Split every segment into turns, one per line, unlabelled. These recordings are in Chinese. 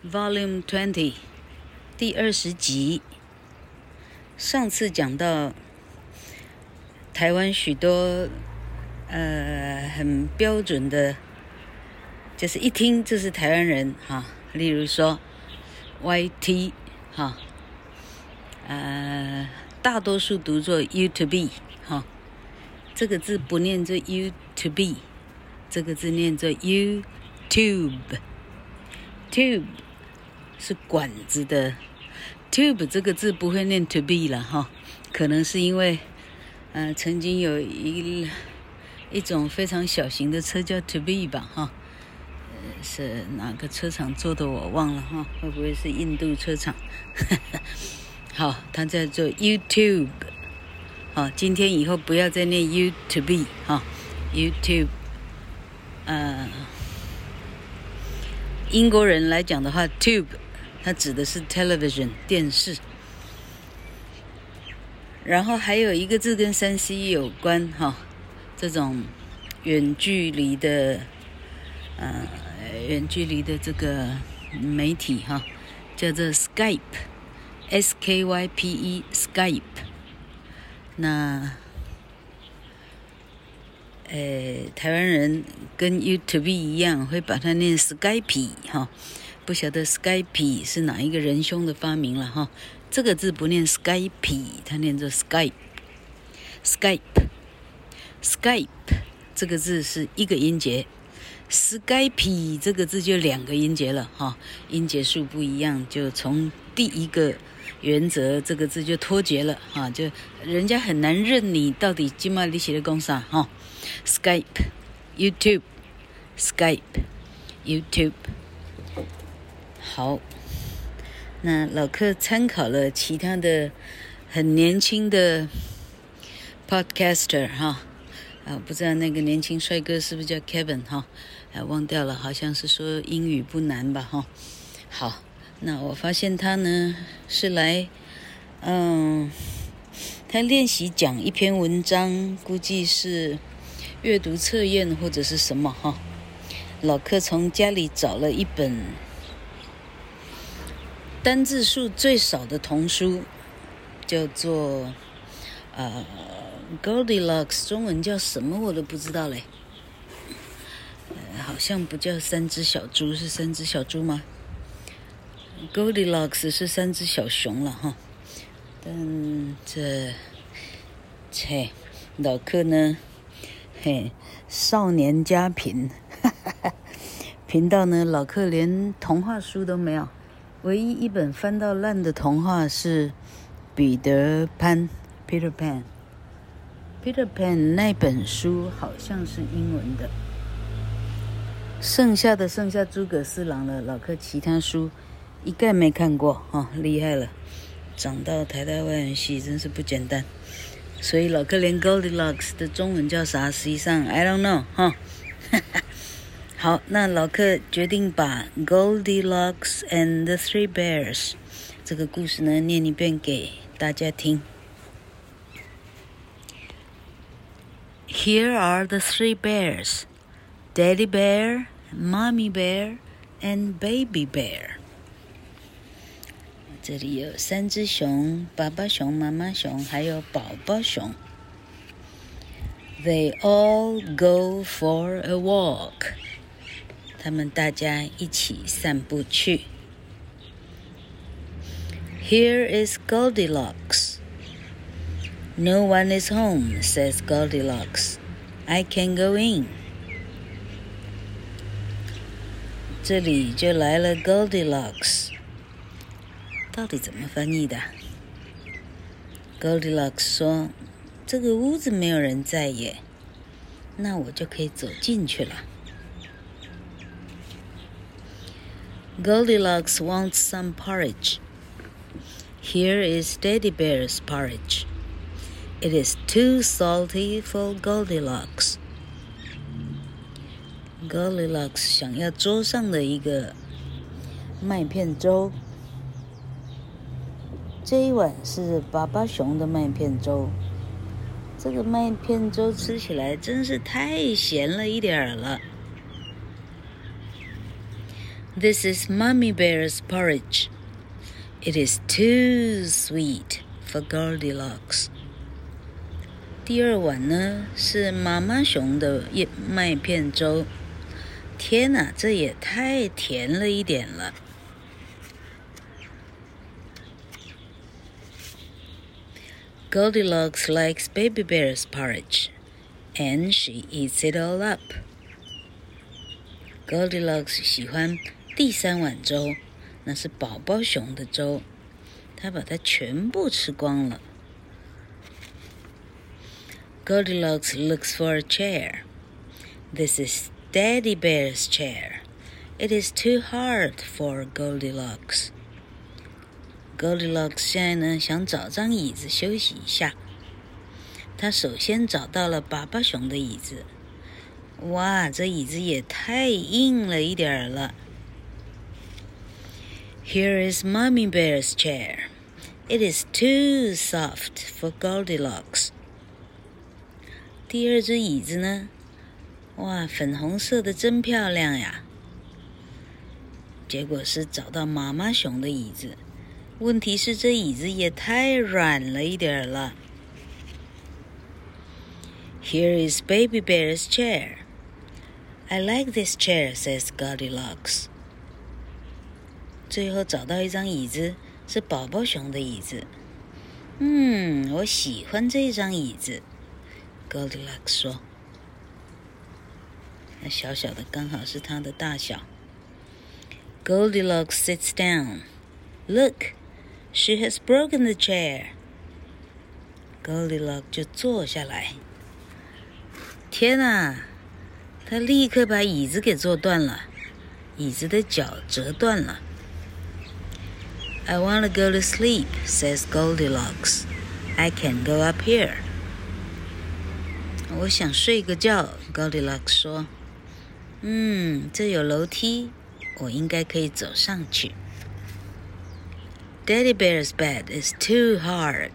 Volume 20第20集。上次講到台灣許多很標準的，就是一聽就是台灣人哈，例如說 YT 哈，大多數讀作 YouTube 哈，這個字不念作 YouTube， 這個字念作 YouTube。Tube 是管子的 Tube 這個字不會念 to be 了哈，可能是因為曾經有一種非常小型的車叫 to be 吧哈，是哪個車廠做的我忘了哈，會不會是印度車廠？好，它叫做 YouTube。好，今天以後不要再念 you to be 哈 ，YouTube。英國人來講的話 ，tube 它指的是 television 電視。然後還有一個字跟 3C 有關哈，這種遠距離的這個媒體哈，叫做 Skype，S-K-Y-P-E Skype。那台灣人跟 YouTube 一樣，會把它念 Skype 哈，不曉得 Skype 是哪一個仁兄的發明了哈。這個字不念 Skype， 它念作 Skype。Skype 這個字是一個音節 ，Skype 這個字就兩個音節了哈，音節數不一樣，就從第一個原則這個字就脫節了哈，就人家很難認你到底今麥你寫的講啥哈。Skype YouTube Skype YouTube。 好，那老客參考了其他的很年輕的 podcaster 哈，不知道那個年輕帥哥是不是叫 Kevin 哈，忘掉了，好像是說英語不難吧哈。好，那我發現他呢是來他練習講一篇文章，估計是閱讀測驗或者是什麼哈。老客從家裡找了一本單字數最少的童書，叫做Goldilocks， 中文叫什麼我都不知道嘞。好像不叫三隻小豬，是三隻小豬嗎？ Goldilocks 是三隻小熊了哈。但老客呢，少年家貧，貧到呢老客連童話書都沒有，唯一一本翻到爛的童話是彼得潘 Peter Pan 那本書好像是英文的，剩下諸葛四郎了，老客其他書一概沒看過哈，厲害了，長到台大外文系真是不簡單。所以老客連 Goldilocks 的中文叫啥，實際上 I don't know 哈。好，那老客決定把 Goldilocks and the Three Bears 這個故事呢念一遍給大家聽。Here are the three bears, Daddy Bear, Mommy Bear, and Baby Bear。這裡有三隻熊，爸爸熊、媽媽熊，還有寶寶熊。They all go for a walk。他們大家一起散步去。Here is Goldilocks. No one is home, says Goldilocks. I can go in. 這裡就來了 Goldilocks。到底怎麼翻譯的？Goldilocks 說：“這個屋子沒有人在耶，那我就可以走進去了。” Goldilocks wants some porridge. Here is Daddy Bear's porridge. It is too salty for Goldilocks. Goldilocks 想要桌上的一個麥片粥。這一碗是爸爸熊的麥片粥，這個麥片粥吃起來真是太鹹了一點了。 This is Mommy Bear's porridge. It is too sweet for Goldilocks. 第二碗呢，是媽媽熊的麥片粥。天哪，這也太甜了一點了。Goldilocks likes Baby Bear's porridge, and she eats it all up. Goldilocks 喜歡第三碗粥，那是寶寶熊的粥，她把它全部吃光了。Goldilocks looks for a chair. This is Daddy Bear's chair. It is too hard for Goldilocks. Goldilocks 現在呢，想找張椅子休息一下。她首先找到了爸爸熊的椅子。哇，這椅子也太硬了一點了。Here is Mommy Bear's chair. It is too soft for Goldilocks. 第二隻椅子呢？哇，粉紅色的真漂亮呀！結果是找到媽媽熊的椅子，問題是這椅子也太軟了一點了。Here is Baby Bear's chair. I like this chair, says Goldilocks. 最後找到一張椅子，是寶寶熊的椅子。我喜歡這張椅子。Goldilocks 說：“那小小的剛好是它的大小。” Goldilocks sits down. Look, she has broken the chair. Goldilocks 就坐下來。天哪！她立刻把椅子給坐斷了，椅子的腳折斷了。I want to go to sleep, says Goldilocks. I can go up here.我想睡個覺 Goldilocks 說。這有樓梯，我應該可以走上去。Daddy Bear's bed is too hard.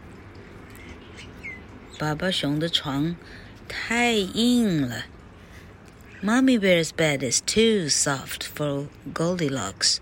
爸爸熊的床太硬了。Mommy Bear's bed is too soft for Goldilocks.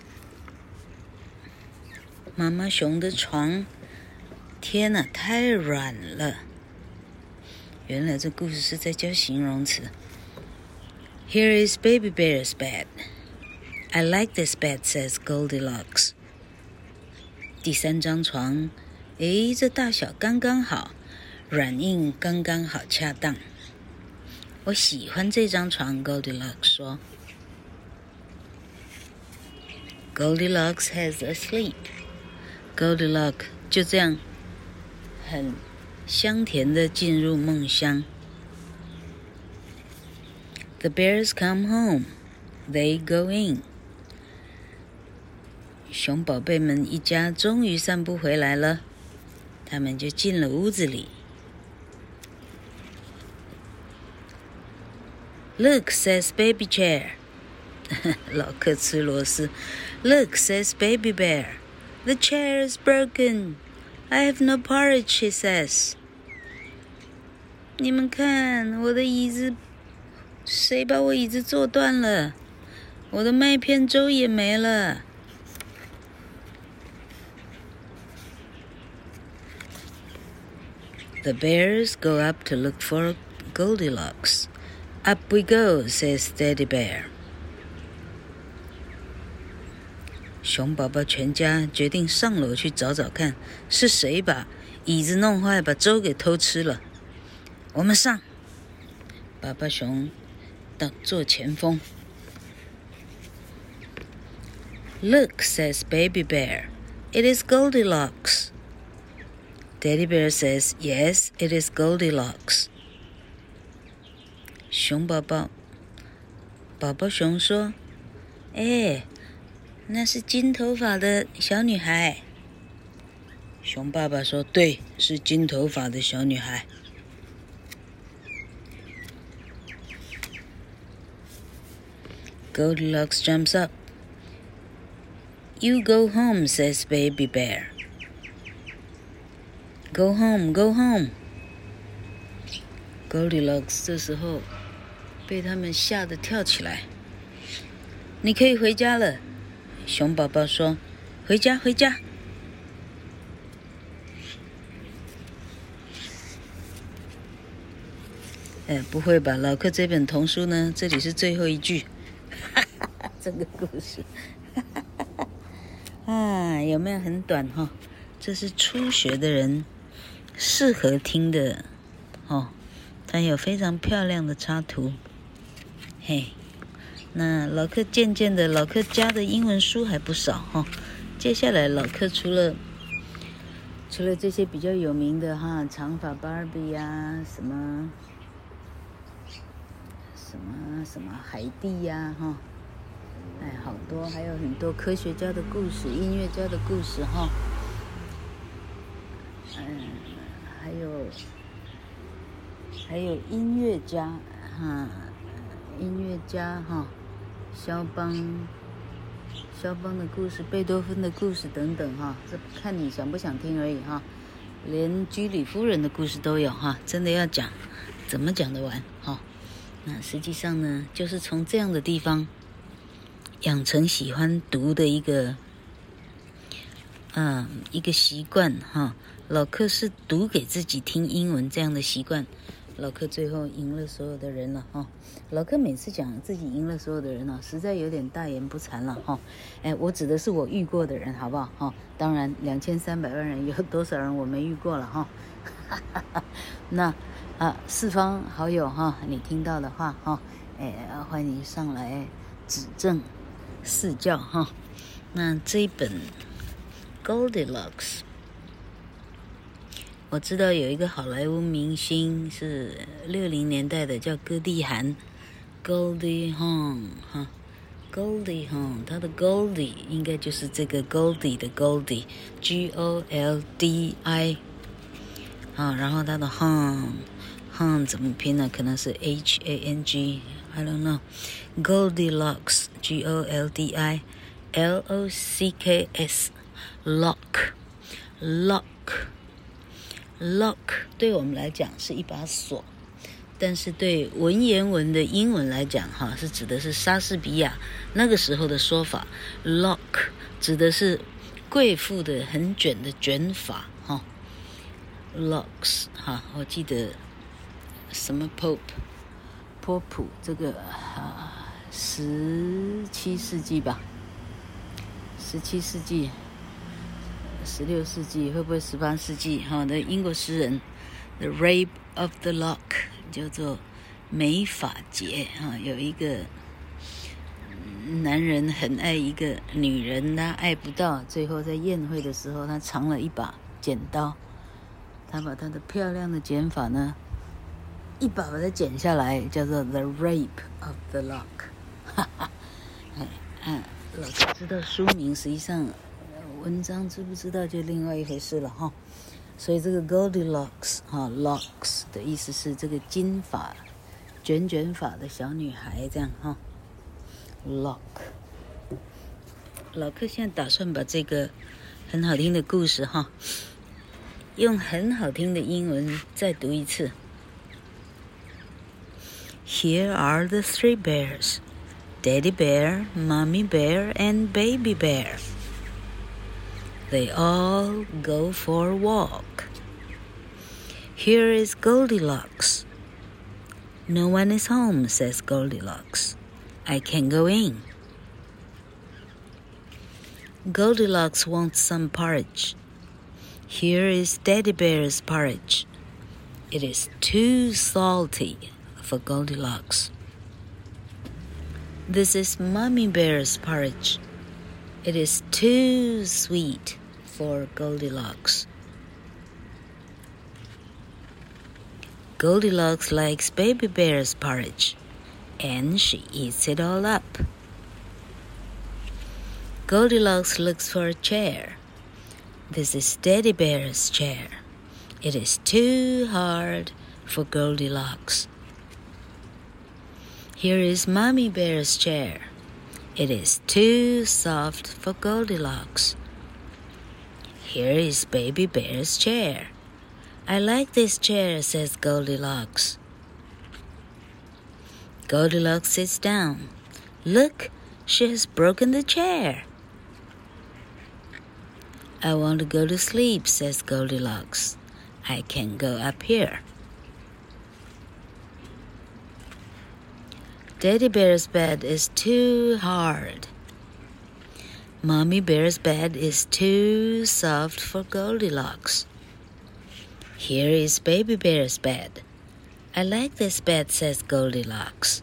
媽媽熊的床，天哪，太軟了。原來這故事是在教形容詞。Here is Baby Bear's bed. I like this bed, says Goldilocks. 第三張床，這大小剛剛好，軟硬剛剛好恰當。我喜歡這張床 Goldilocks 說。Goldilocks has a sleep. Goldilocks 就這樣很香甜地進入夢鄉。The bears come home. They go in. 熊寶貝們一家終於散步回來了，他們就進了屋子裡。Look, says Baby Chair. 老克吃螺絲。Look, says Baby Bear. The chair is broken. I have no porridge, she says. 你們看，我的椅子，誰把我椅子坐斷了？我的麥片粥也沒了。The bears go up to look for Goldilocks. Up we go, says Daddy Bear. 熊寶寶全家決定上樓去找找看，是誰把椅子弄壞，把粥給偷吃了。我們上！爸爸熊做前鋒。Look, says Baby Bear. It is Goldilocks. Daddy Bear says, yes, it is Goldilocks. 熊宝宝熊說，那是金頭髮的小女孩。熊爸爸說，對，是金頭髮的小女孩。Goldilocks jumps up. You go home, says Baby Bear. Go home, go home. Goldilocks 這時候被他們嚇得跳起來。 你可以回家了。熊寶寶說：“回家，回家。”不會吧？老克這本童書呢？這裡是最後一句，這個故事，有沒有很短哈？這是初學的人適合聽的哦。它有非常漂亮的插圖，嘿。那老克漸漸的，老克家的英文書還不少哈。接下來老克除了這些比較有名的哈，長髮芭比呀，什麼海蒂呀哈，好多，還有很多科學家的故事、音樂家的故事哈，還有音樂家哈，肖邦的故事、貝多芬的故事等等哈，這看你想不想聽而已哈。連居里夫人的故事都有哈，真的要講，怎麼講得完哈？那實際上呢，就是從這樣的地方養成喜歡讀的一個習慣哈。老克是讀給自己聽英文這樣的習慣。老克最後贏了所有的人了哈！老克每次講自己贏了所有的人了，實在有點大言不慚了哈！我指的是我遇過的人，好不好哈？當然，2300萬人有多少人我沒遇過了哈？那四方好友哈，你聽到的話哈，歡迎上來指正賜教哈。那這一本 Goldilocks。我知道有一個好萊塢明星是60年代的，叫歌地韓 ，Goldie Hawn 哈 ，Goldie Hawn， 他的 Goldie 應該就是這個 Goldie 的 Goldie，G-O-L-D-I， 然後他的 Hawn 怎麼拼呢？可能是 H-A-N-G，I don't know，Goldilocks G-O-L-D-I，L-O-C-K-S，Lock。对我們來講是一把鎖，但是對文言文的英文來講哈，是指的是莎士比亞那個時候的說法。Lock 指的是貴婦的很捲的捲髮哈。Locks 哈，我記得什麼波普這個17世紀吧，17世紀。16世紀會不會18世紀哈的英國詩人 The Rape of the Lock 叫做美髮節哈，有一個男人很愛一個女人，他愛不到，最後在宴會的時候他藏了一把剪刀，他把他的漂亮的剪髮呢一把把它剪下來，叫做 The Rape of the Lock 哈哈，老師知道書名，實際上文章知不知道就另外一回事了哈。所以這個 Goldilocks 哈 ，locks 的意思是這個金髮捲髮的小女孩這樣哈。Lock， 老克現在打算把這個很好聽的故事哈，用很好聽的英文再讀一次。Here are the 3 bears, Daddy Bear, Mommy Bear, and Baby Bear. They all go for a walk. Here is Goldilocks. No one is home, says Goldilocks. I can go in. Goldilocks wants some porridge. Here is Daddy Bear's porridge. It is too salty for Goldilocks. This is Mommy Bear's porridge. It is too sweet for Goldilocks. Goldilocks likes Baby Bear's porridge, and she eats it all up. Goldilocks looks for a chair. This is Daddy Bear's chair. It is too hard for Goldilocks. Here is Mommy Bear's chair. It is too soft for Goldilocks. Here is Baby Bear's chair. I like this chair, says Goldilocks. Goldilocks sits down. Look, She has broken the chair. I want to go to sleep, says Goldilocks. I can't go up here. Daddy Bear's bed is too hard. Mommy Bear's bed is too soft for Goldilocks. Here is Baby Bear's bed. I like this bed, says Goldilocks.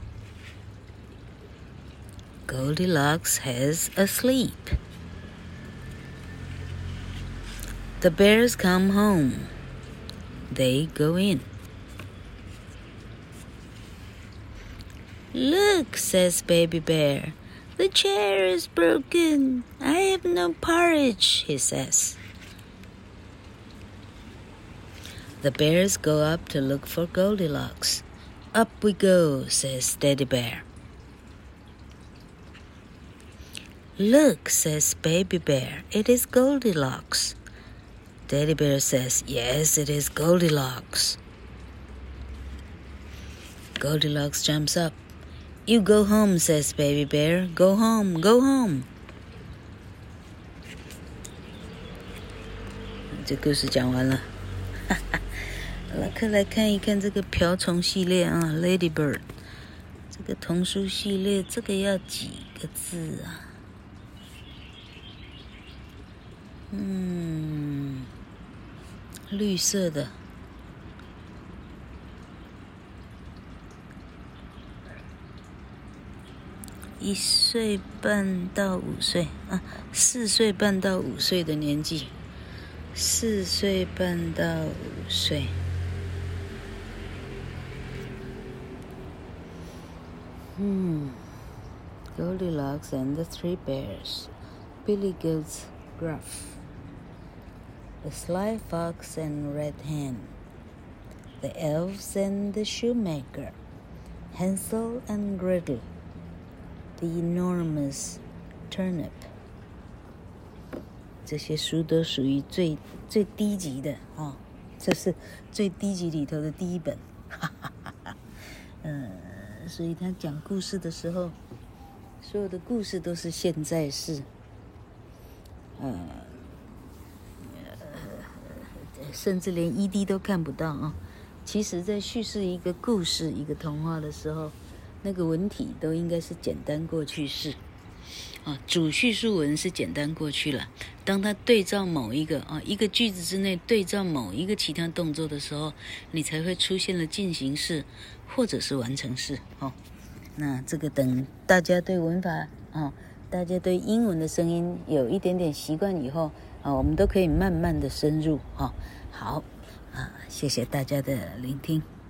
Goldilocks has a sleep. The bears come home. They go in. Look, says Baby Bear. The chair is broken. I have no porridge, he says. The bears go up to look for Goldilocks. Up we go, says Daddy Bear. Look, says Baby Bear. It is Goldilocks. Daddy Bear says, yes, it is Goldilocks. Goldilocks jumps up. You go home, says Baby Bear. Go home, go home. 这故事講完了。老客來看一看這個瓢蟲系列啊 ，Ladybird。這個童書系列，這個要幾個字啊？綠色的。1歲半到5歲啊，4歲半到5歲的年紀，4歲半到5歲。Goldilocks and the Three Bears, Billy Goat's Gruff, the Sly Fox and Red Hen, the Elves and the Shoemaker, Hansel and Gretel.The Enormous Turnip 這些書都屬於最低級的啊，這是最低級裡頭的第一本，所以他講故事的時候，所有的故事都是現在式，甚至連 ED 都看不到啊。其實在敘事一個故事、一個童話的時候，那個文體都應該是簡單過去式啊，主敘述文是簡單過去了。當它對照某一個一個句子之內對照某一個其他動作的時候，你才會出現了進行式或者是完成式哦。那這個等大家對文法大家對英文的聲音有一點點習慣以後我們都可以慢慢的深入好謝謝大家的聆聽。